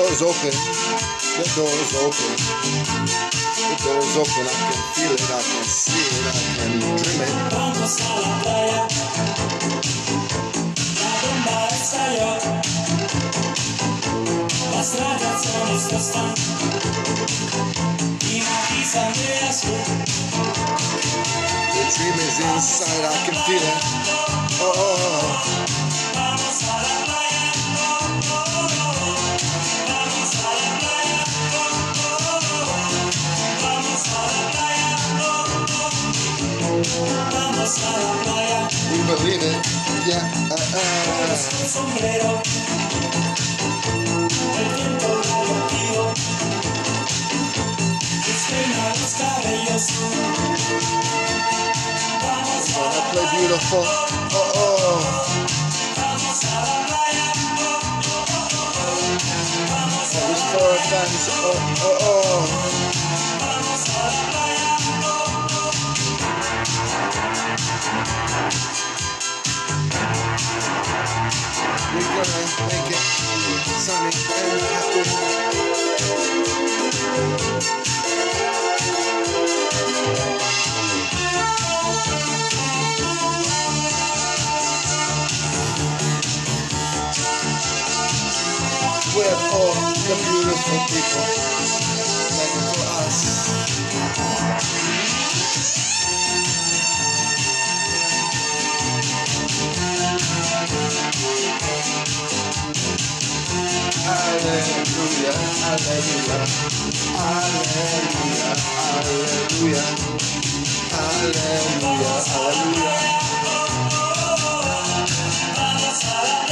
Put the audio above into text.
door's open. The door's open. The door's open. I can feel it. I can see it. I can dream it. Vamos a la playa. La bomba estalló. Las radiaciones no están. Y matizan de azul. The dream is inside. I can feel it. Oh. Vamos a la playa. Vamos a la playa. Vamos a la playa. Vamos a la playa. We believe it. Yeah. Con sombrero. El viento radioactivo. Despeina los cabellos. Vamos a la Play playa. beautiful. Vamos a la playa. Vamos a These la four playa. fans. Vamos a la playa. We're gonna make it sunny and happy. We're all the beautiful people meant for us. Hallelujah, hallelujah, hallelujah, hallelujah, hallelujah, hallelujah. Vamos a la